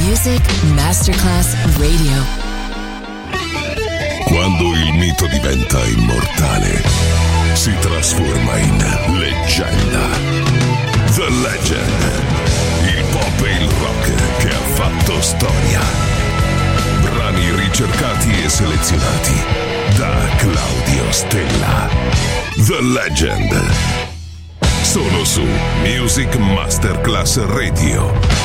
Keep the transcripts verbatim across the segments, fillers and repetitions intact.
Music Masterclass Radio. Quando il mito diventa immortale, si trasforma in leggenda. The Legend. Il pop e il rock che ha fatto storia. Brani ricercati e selezionati da Claudio Stella. The Legend. Solo su Music Masterclass Radio.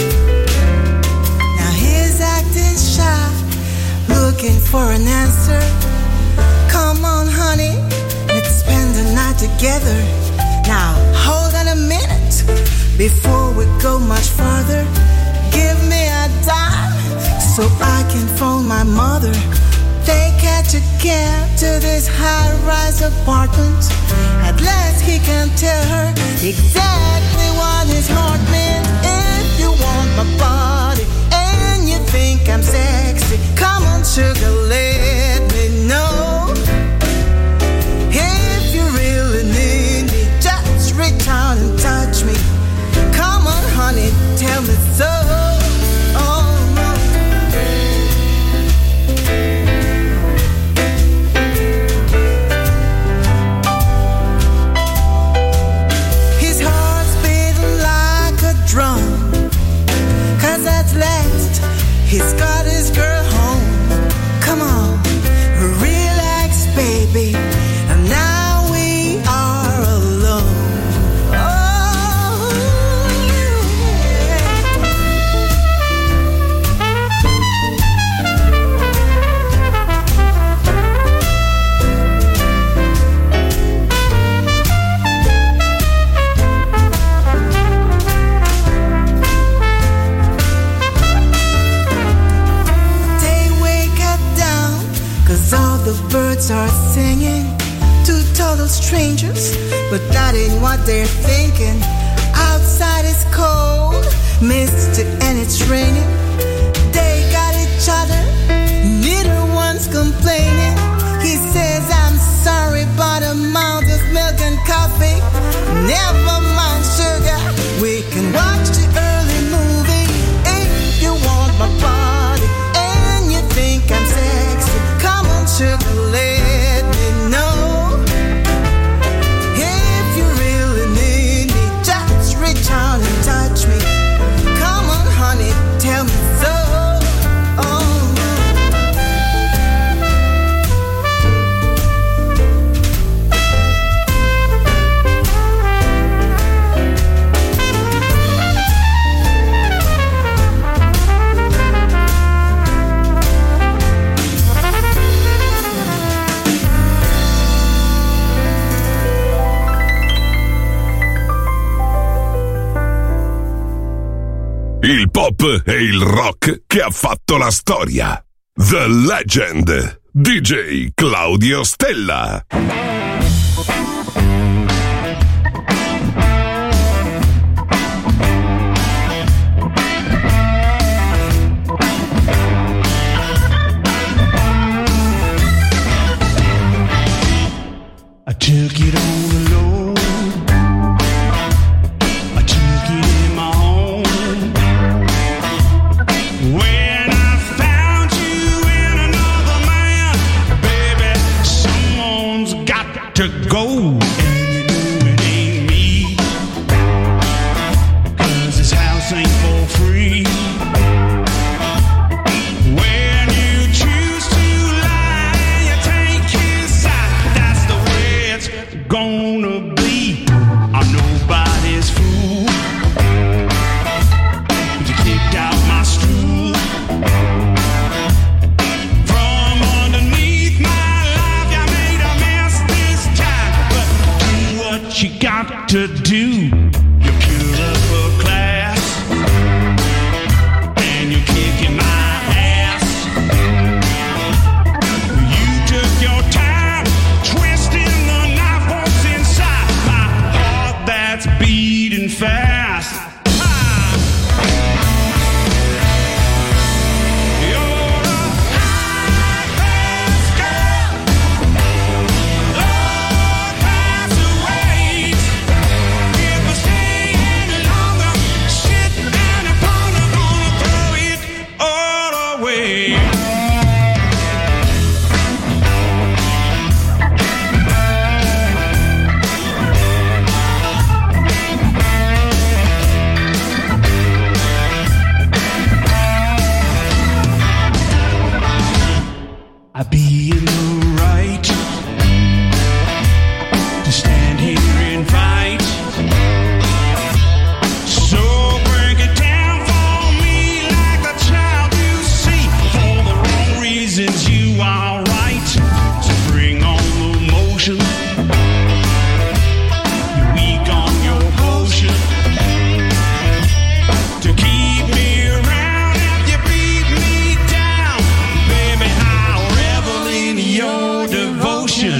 For an answer, together. Now hold on a minute before we go much further. Give me a dime so I can phone my mother. Take her to care to this high-rise apartment. At last he can tell her exactly what his heart meant. If you want my body and you think I'm sexy, come on sugar, let me know. If you really need me, just reach out and touch me. Come on honey, tell me so. He's got his girl home. Come on, relax, baby. And now we are alone. Oh, all the birds are singing to total strangers, but that ain't what they're thinking. Outside is cold, misty, and it's raining. They got each other, neither one's complaining. He says, I'm sorry, but amount of milk and coffee. Never mind, sugar, we can watch the early movie. If you want my body and you think I'm sexy, come on sugar, let me know. If you really need me, just reach out and touch me. Come on honey, tell me so. Il pop e il rock che ha fatto la storia. The Legend, D J Claudio Stella. I took it on the low. I took it in my home. When I found you in another man, baby, someone's got to go. And you know it ain't me, 'cause this house ain't for free. When you choose to lie, you take his side. That's the way it's gonna be. I'm nobody's fool, but you kicked out my stool. From underneath my life, you made a mess this time. But do what you got to do. You're pure upper class, and you're kicking my ass. You took your time, twisting the knife what's inside my heart that's beating fast. Ah! You're a high-class girl, low-class ways. Get your devotion.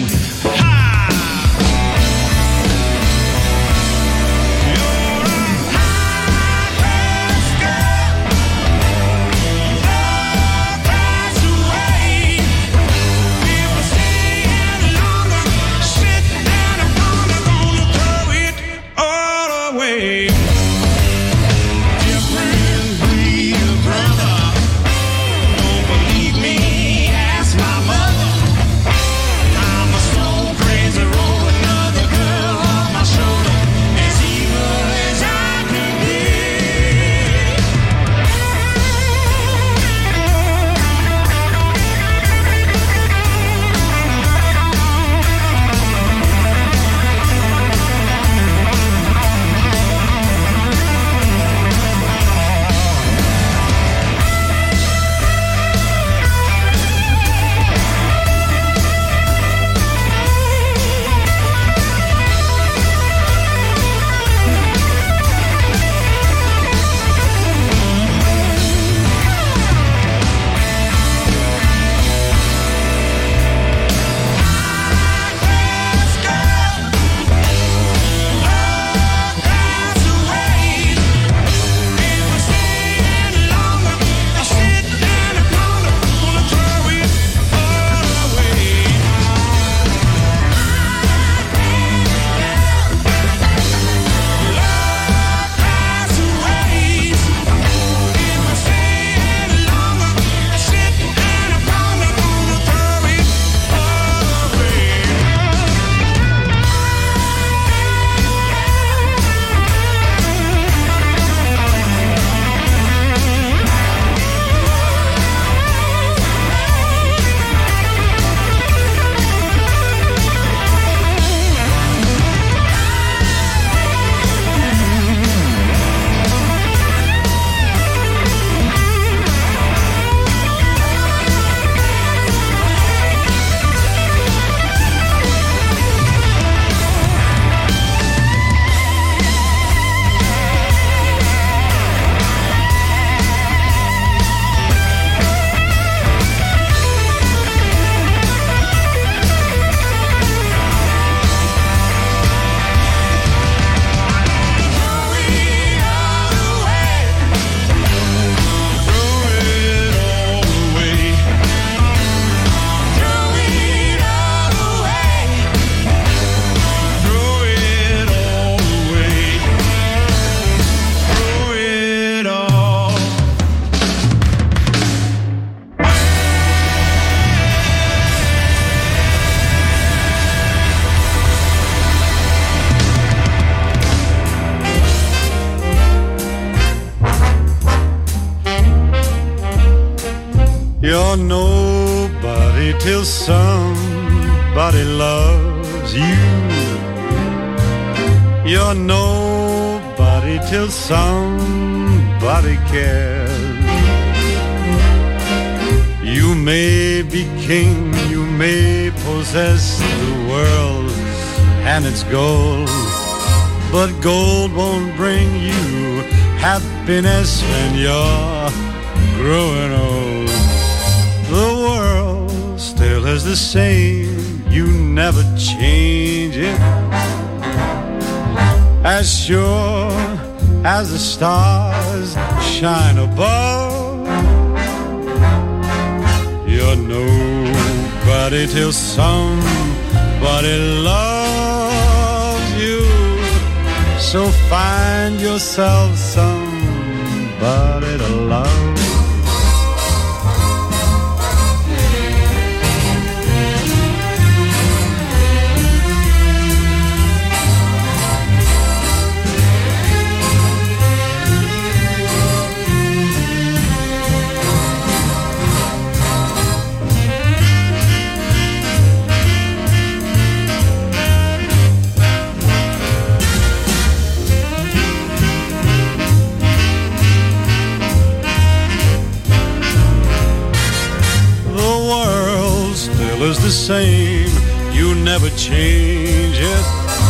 You're nobody till somebody loves you. You're nobody till somebody cares. You may be king, you may possess the world and its gold, but gold won't bring you happiness when you're growing old. The world still is the same, you never change it. As sure as the stars shine above, you're nobody till somebody loves you. So find yourself somebody to love. Is the same, you never change it.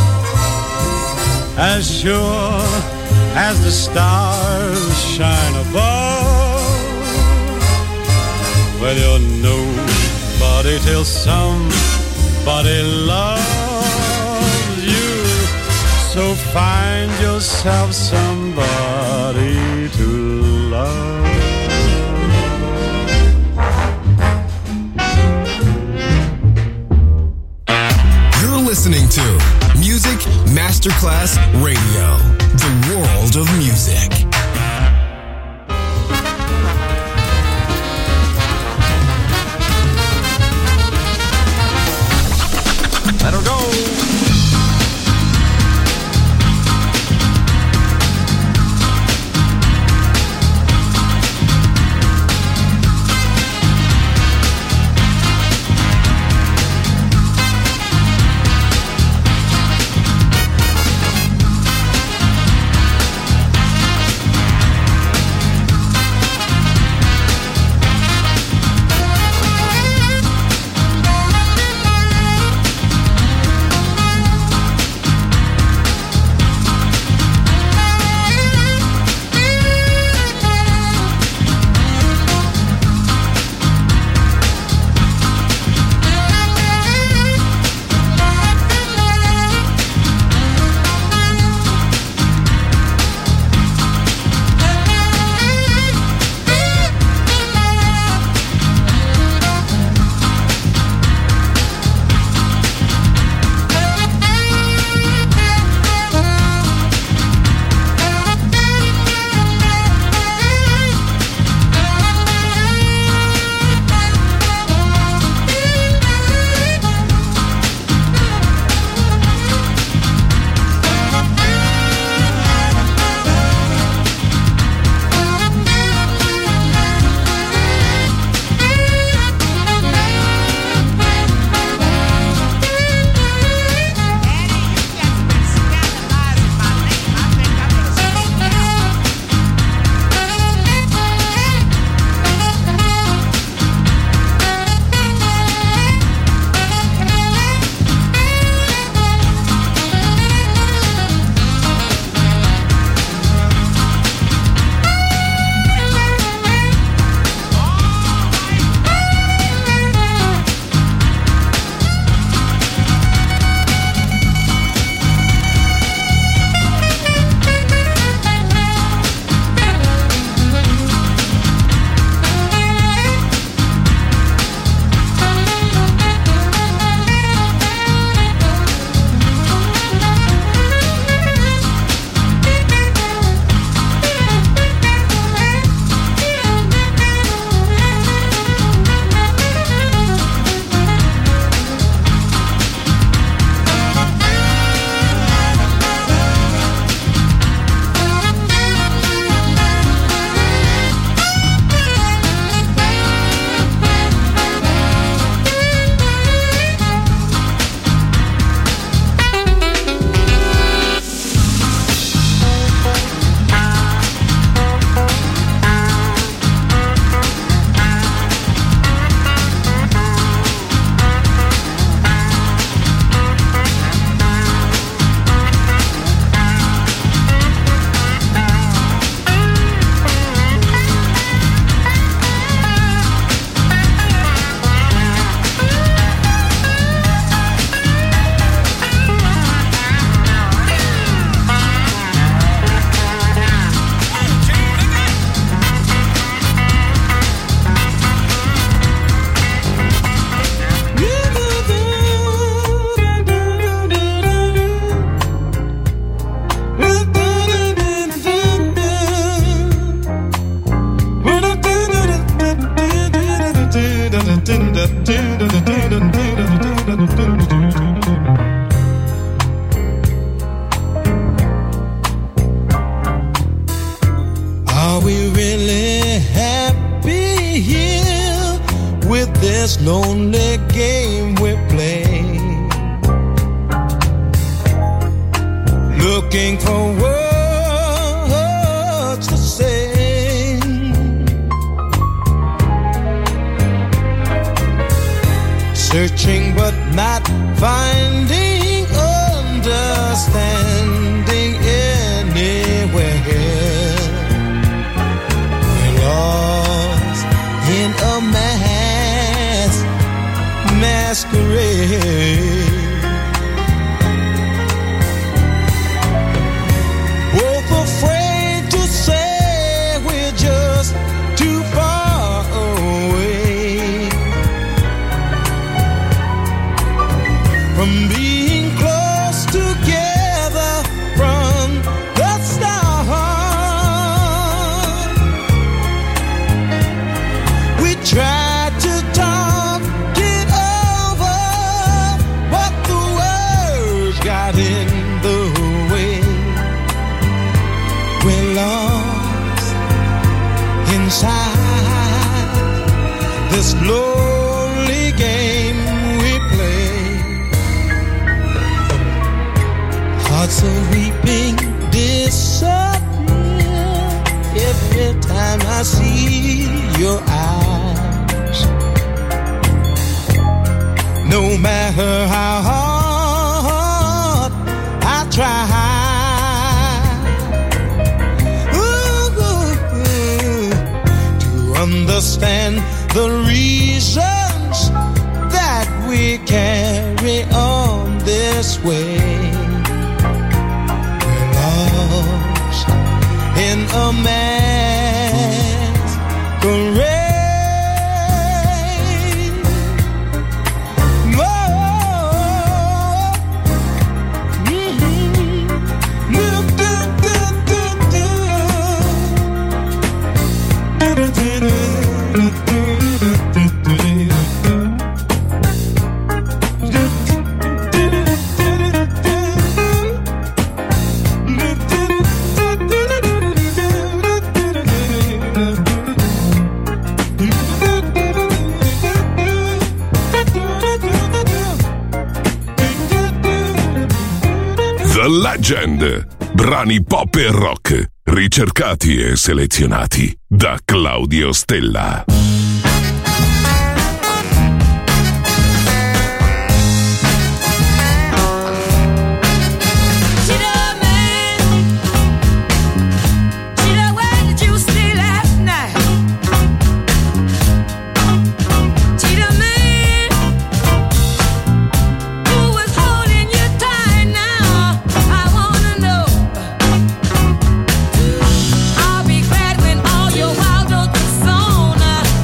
As sure as the stars shine above, well, you're nobody somebody till somebody loves you. So find yourself somebody to love. You're listening to Music Masterclass Radio, the world of music. Let her go. Are we really happy here with this lonely game we play? Looking for words to say, searching but not finding understanding anywhere. We're lost in a mass Both afraid to say we're just too far away from being close together from the start. We tried to talk it over, but the words got in the way. We're lost inside this lonely game we play. Hearts are weeping, disappear every time I see your eyes. No matter how hard I try, ooh, ooh, to understand the reasons that we carry on this way. We're lost in a masquerade. The Legend. Brani pop e rock, ricercati e selezionati da Claudio Stella. I'll be glad when all your wild oats on.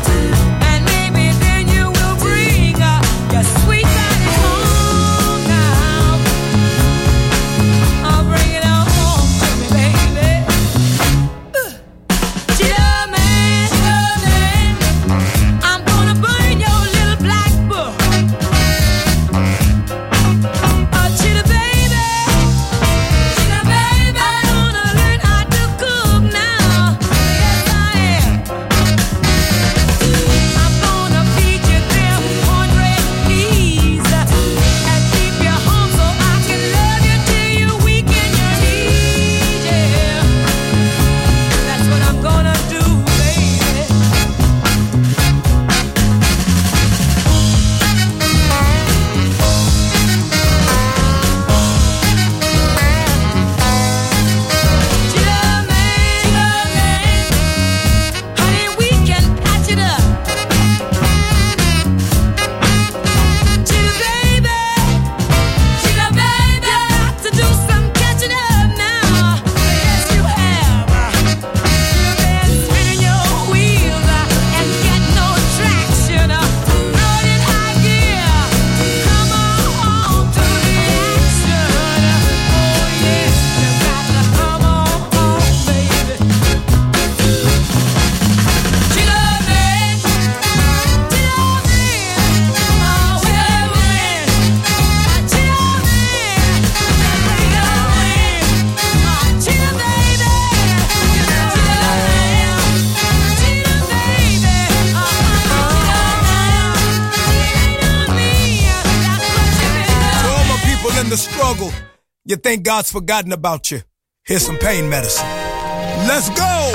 the struggle, you think God's forgotten about you. Here's some pain medicine. Let's go!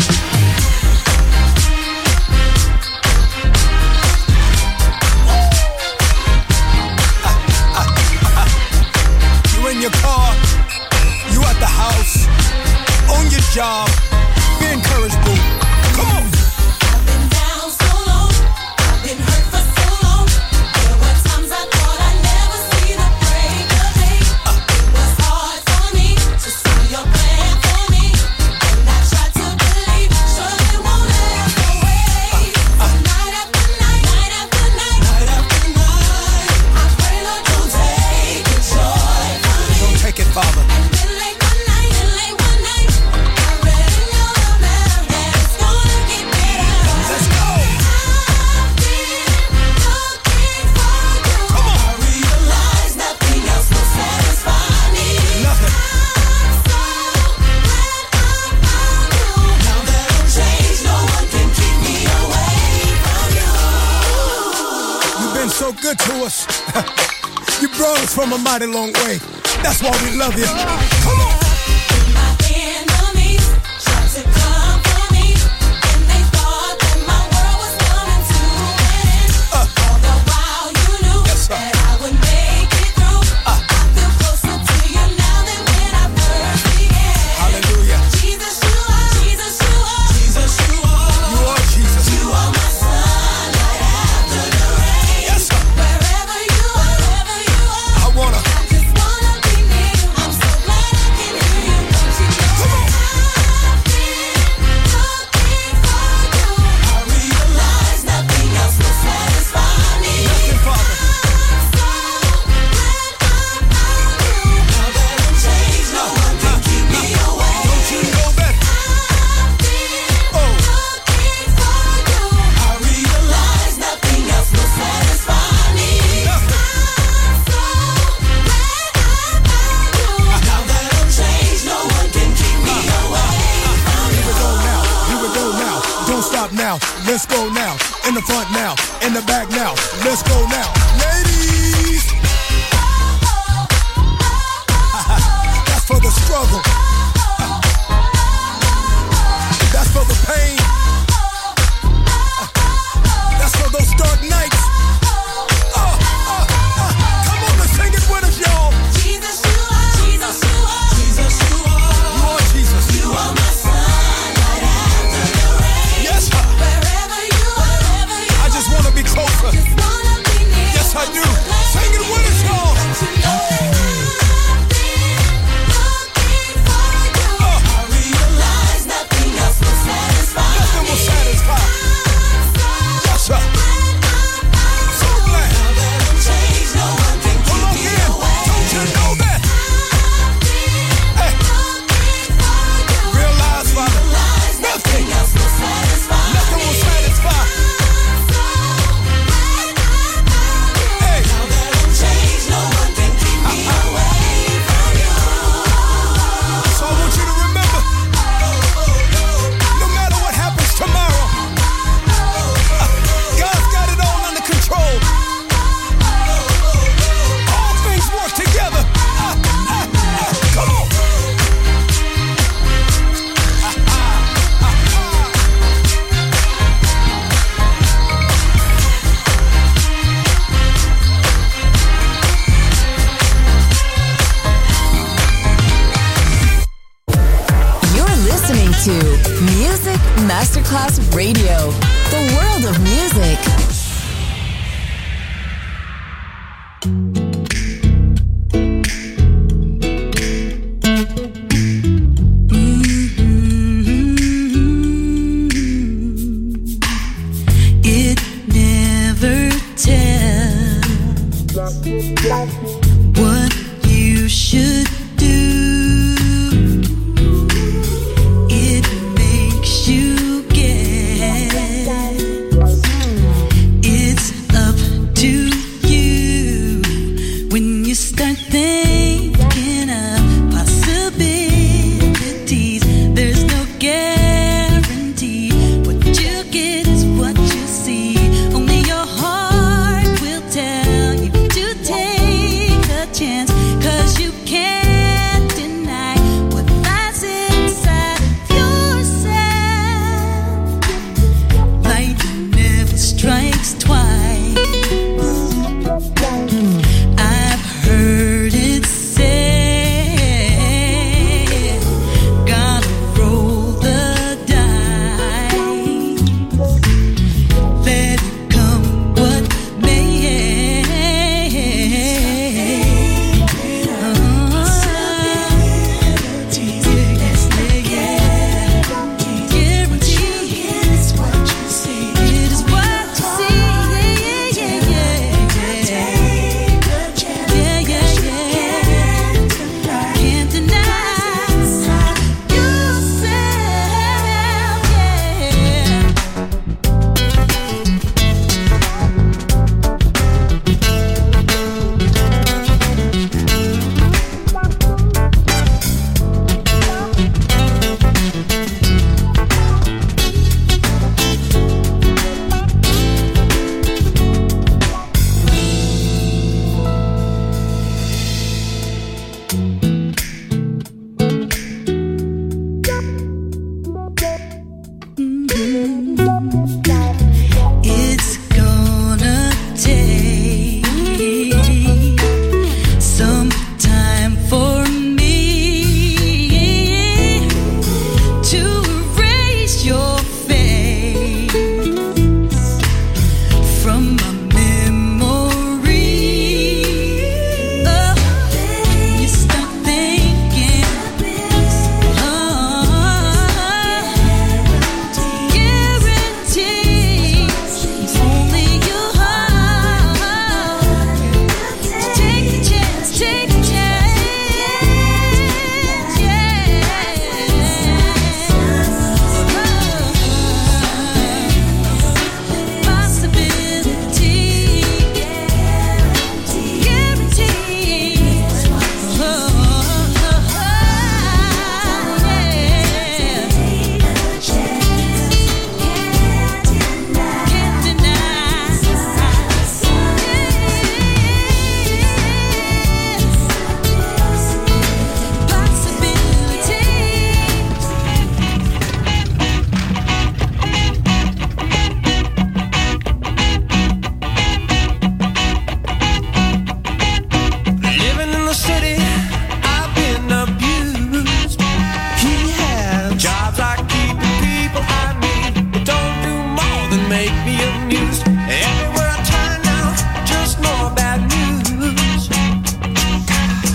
You in your car, you at the house, on your job, be encouraged, boo. Come on! I've been down so long, I've been hurt for so long. There were times I thought I'd never from a mighty long way. That's why we love you. Come on. Let's go now, in the front now, in the back now. Let's go now, ladies. That's for the struggle. That's for the pain. That's for those dark nights. Uh, uh, uh. Come on, let's sing it with us, y'all. Jesus, you are, Jesus, you are, Jesus, you are. You are Jesus. You are my sunlight after the rain. Yes, sir. I just wanna be closer. Yes, I do. Sing it with us, y'all. Uh, I realize nothing else will satisfy. Nothing will satisfy. Yes, sir. So glad. No one can keep Hold on me here. away. Don't you know that? Hey. Realize, Father. Nothing else will satisfy. Nothing will satisfy. To Music Masterclass Radio, the world of music. It never tells what you should do. You guess it's up to you when you start thinking of possibilities. There's no guarantee. What you get is what you see. Only your heart will tell you to take a chance, 'cause you can't deny what lies inside of yourself. Strikes twice. I've heard it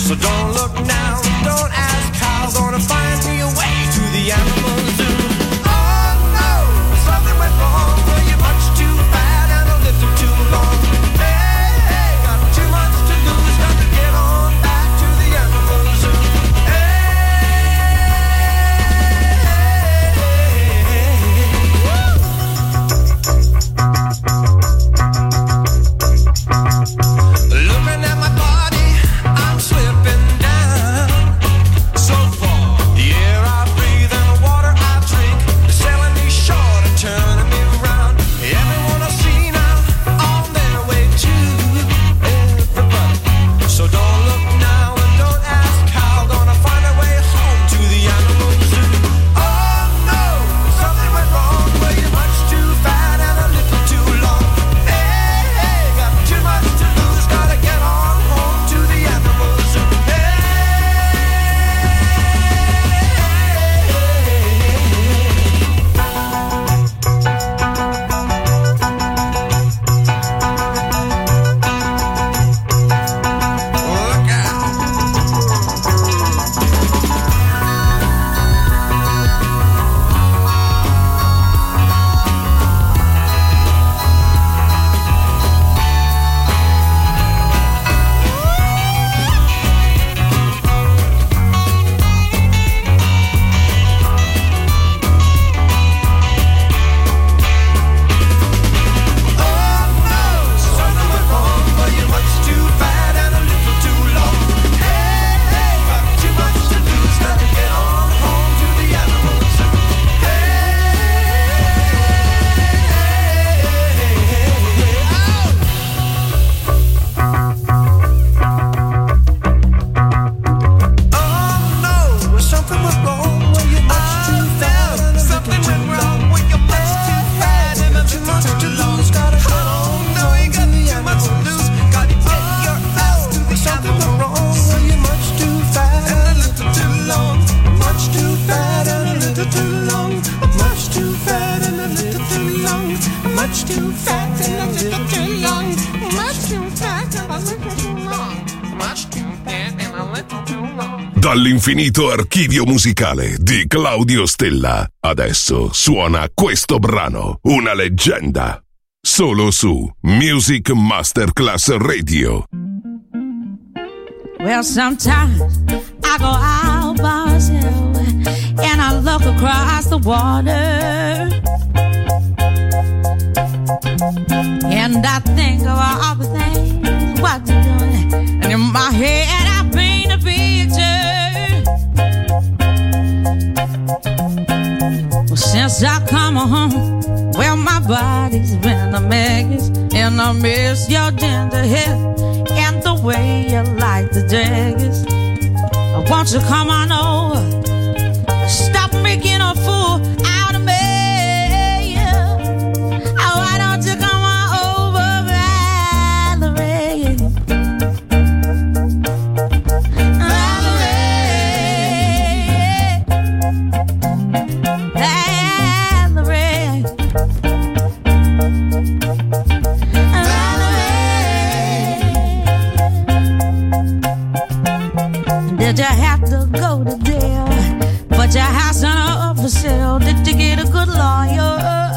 So don't look now, don't ask how. Gonna find me a way to the animal zoo. Oh no, something went wrong. Well, you're much too fat and a little too long. Hey, hey, got too much to lose. Got to get on back to the animal zoo. Looking at my body, I'm slipping down so far. The air I breathe and the water I drink is selling me short and turning me around. Everyone I see now on their way to everybody. So don't look now and don't ask how. Gonna find a way home to the animal zoo. Oh no, something went wrong. Well, you're much too fat and a little too long. Hey, hey, got too much to lose. Gotta get on home to the animal zoo. Look out. Something went wrong, but you're much too fat and a little too long. Hey, hey, got too much to lose. Gotta get on home to the animal zoo. Oh no, something went wrong. Well, you're much too fat and a little too long. Well, you're much too fat and a little too long. Gotta get on no, you got too much to lose. Gotta get your ass to the something went wrong. Well, you're much too fat and a little too long. Much too fat and a little too long. Much too fat and a little too long. Much too fat and a little too long. Much too fat and a little too long. Much too fat and a little too long. Dall'infinito archivio musicale di Claudio Stella. Adesso suona questo brano, una leggenda. Solo su Music Masterclass Radio. Well, sometimes I go out by myself and I look across the water and I think of all the things what you're doing, and in my head I paint a picture. Well, since I come home, well, my body's been a mess, and I miss your tender hair and the way you like the daggers. Won't you come on over? Stop making a fool out of me. Oh, why don't you come on over, Valerie? Valerie, Valerie, Valerie. Did you have to go to jail? But your house on up for sale. Did you get a good lawyer?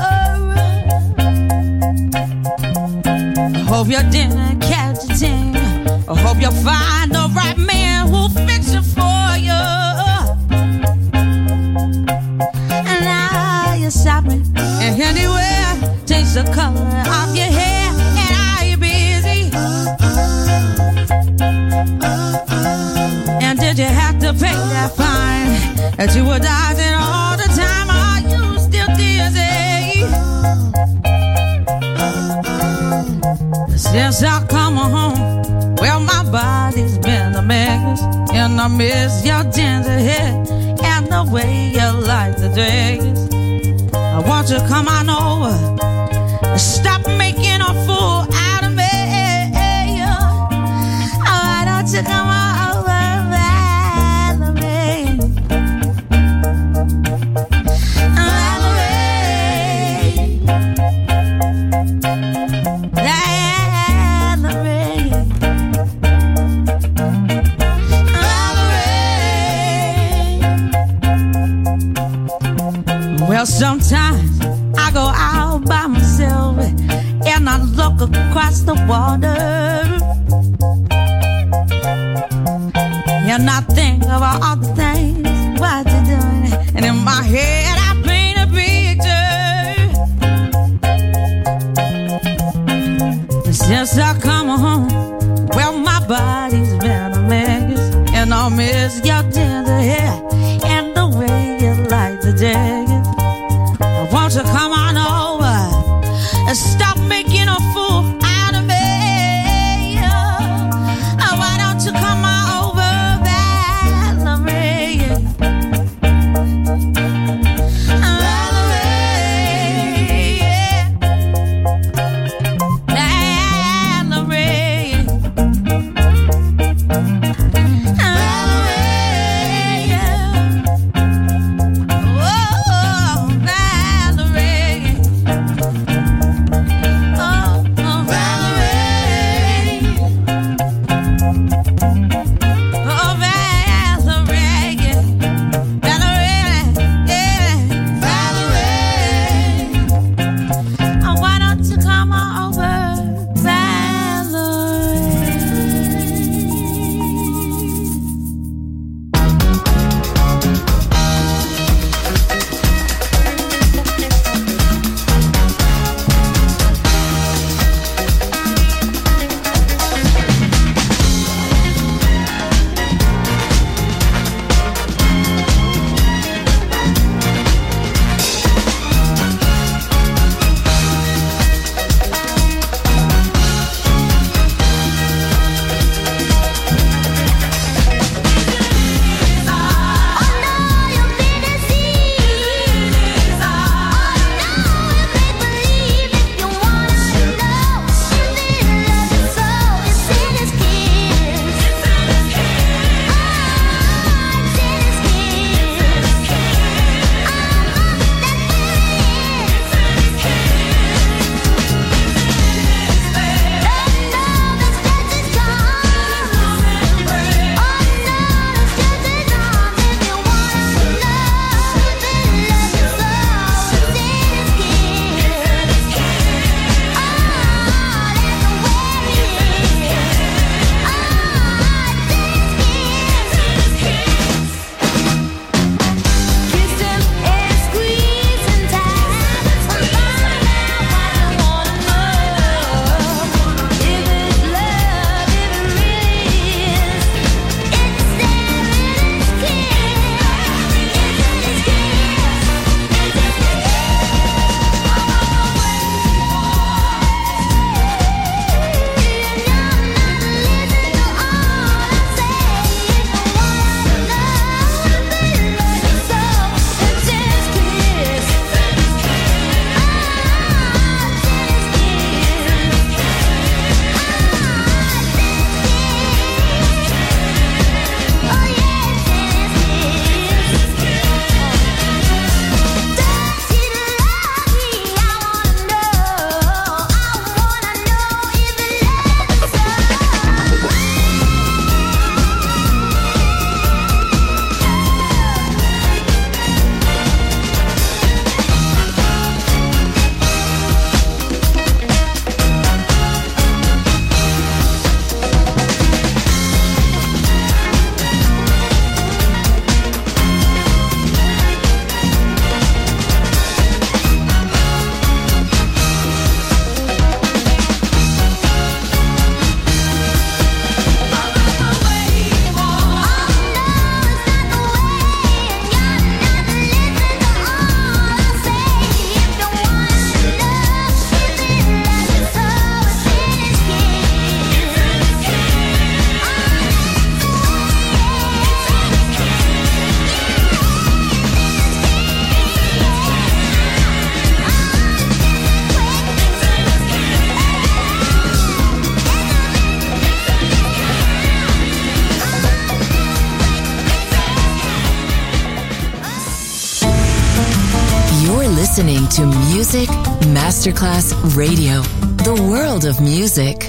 I hope you didn't catch a thing. I hope you find the right man who'll fix it for you. And now you're shopping, and anywhere takes the color of your hair. And are you busy? And did you have to pay that fine that you were dodging all the time? Are you still dizzy? Since I come home, well, my body's been a mess, and I miss your ginger hair and the way you like the dress. I want you to come on over, stop making a fool out of me. Why don't you come on over, Valerie? Valerie, Valerie. Well, sometimes I go out by myself and I look across the water, and I think about all the things what you're doing, and in my head I paint a picture. Since I come home, well, my body's been a mess, and I miss your tender hair and the way you like the jacket. Won't you come on over and stop making a fool out of me? Oh, why don't you come on over, Valerie? Valerie, Valerie, listening to Music Masterclass Radio, the world of music.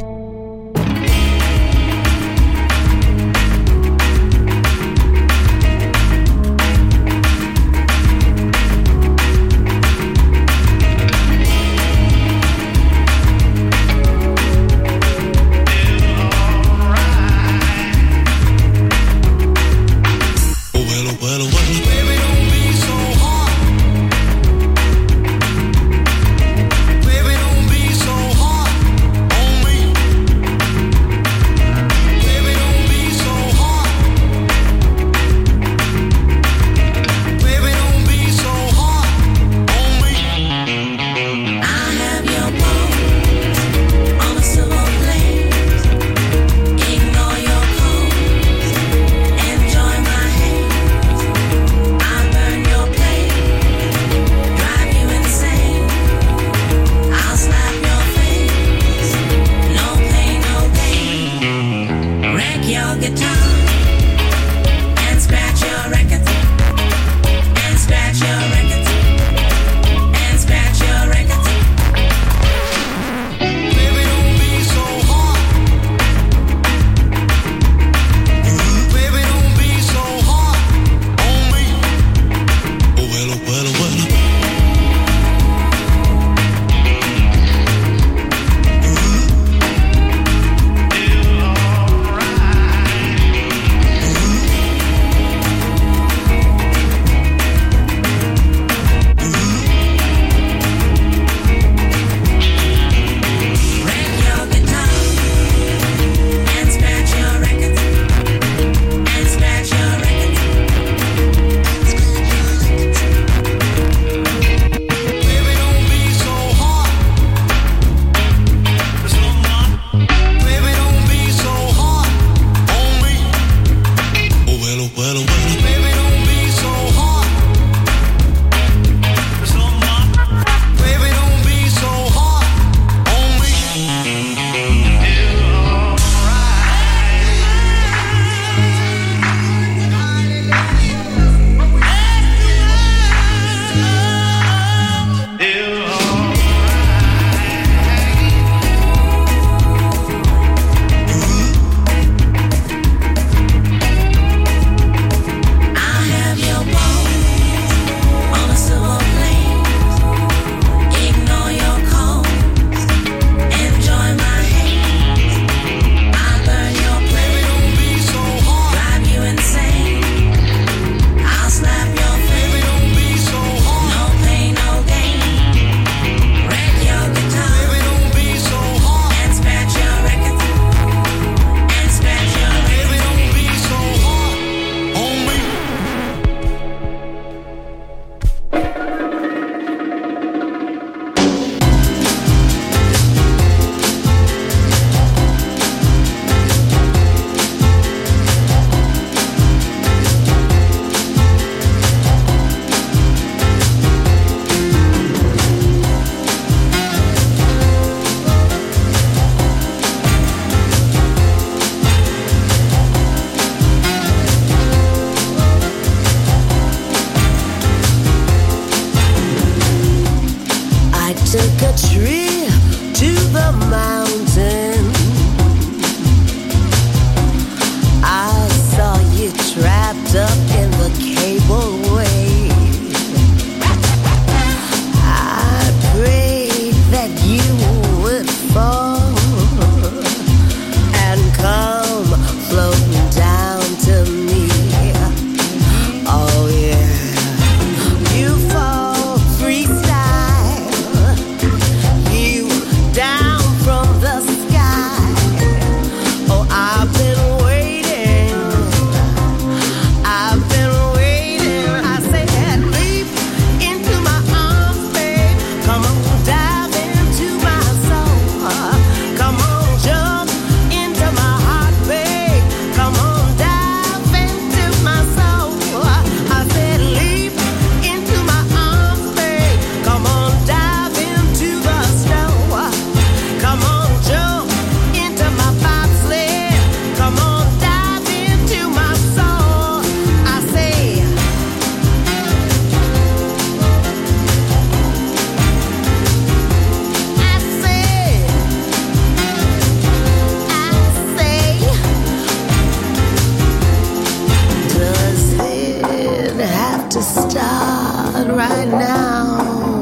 to start right now.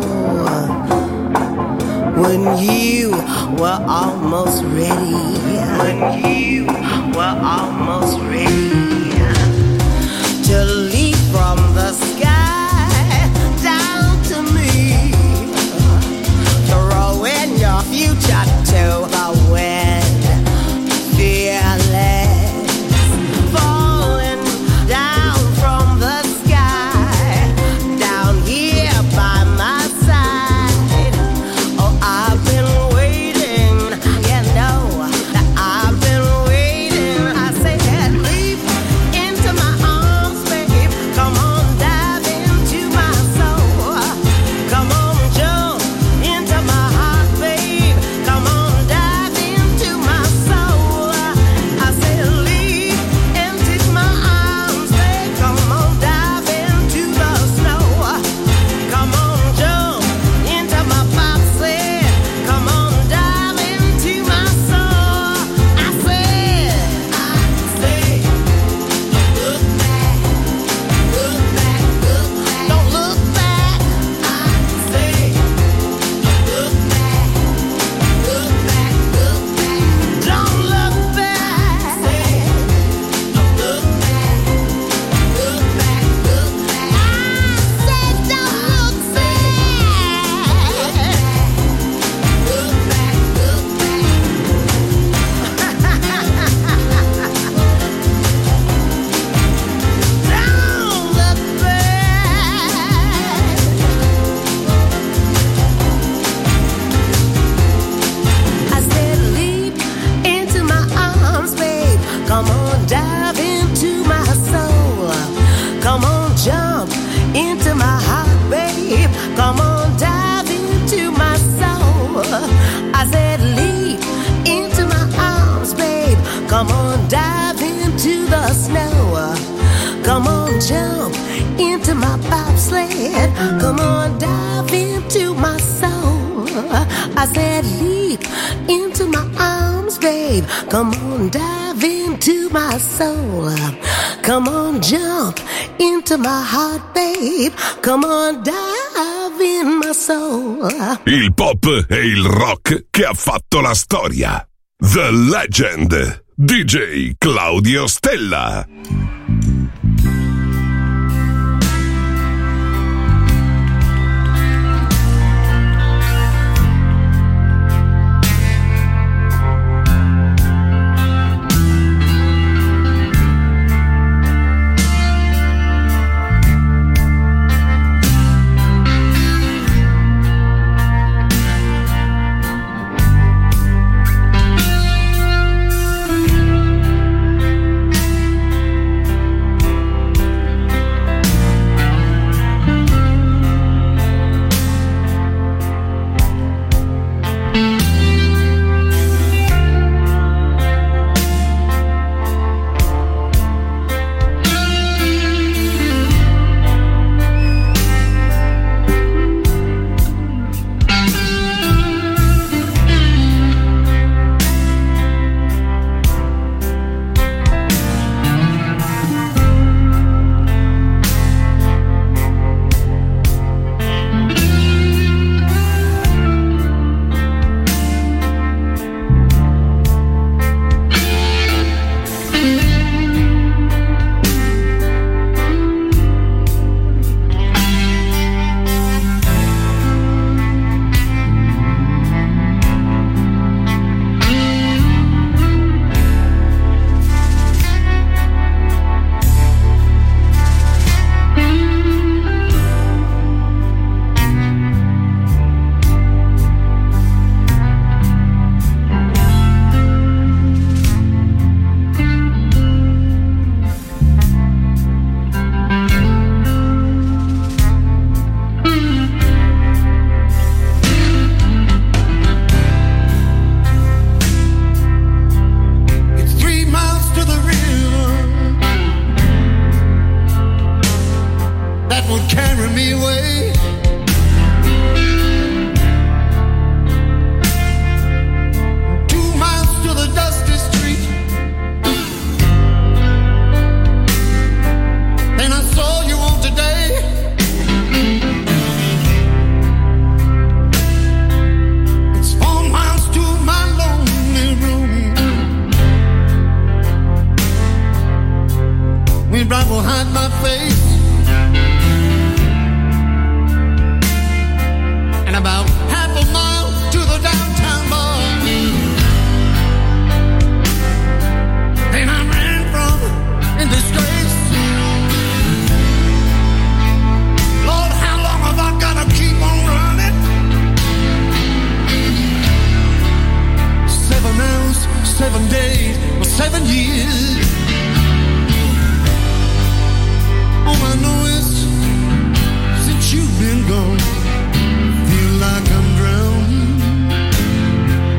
When you were almost ready, when you were almost ready to leap from the sky down to me, throwing your future to the wind, fearless, falling down from the sky, down here by my side. Oh, I've been waiting, you know that I've been waiting. I said, leap into my arms, babe. Come on, dive into my soul. Come on, jump into my heart, babe. Come on, dive into my soul. I said, leap into my arms, babe. Come on, dive into the snow. Come on, jump into my bobsled. Come on, dive into my soul. I said, I said, look back, look back, look back. Don't look back. I said, look back, look back, look back. Don't look back. I said, look back, look back, look back. I said, don't look back. Look back, Don't look back. I said, leap into my arms, babe. Come on, dive into my soul. Come on, jump into my heart, babe. Come on, dive into my soul. I said, leap into my arms, babe. Come on, dive into the snow. Come on, jump into my bobsled. Come on, dive into my soul. I said, leap into my arms, babe. Come on, dive into my soul. Come on, jump into my heart, babe. Come on, dive in my soul. Il pop e il rock che ha fatto la storia. The Legend. D J Claudio Stella. Day Me right behind my face. And about half a mile to the downtown bar. And I ran from in disgrace. Lord, how long have I gotta keep on running? Seven hours, seven days, or seven years. All I know is, since you've been gone, feel like I'm drowning.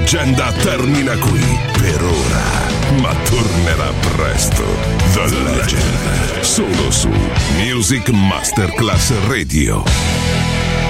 leggenda termina qui per ora, ma tornerà presto. The Legend, solo su Music Masterclass Radio.